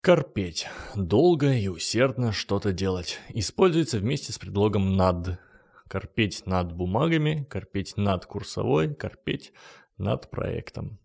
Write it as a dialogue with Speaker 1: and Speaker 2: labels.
Speaker 1: Корпеть. Долго и усердно что-то делать. Используется вместе с предлогом «над». Корпеть над бумагами, корпеть над курсовой, корпеть над проектом.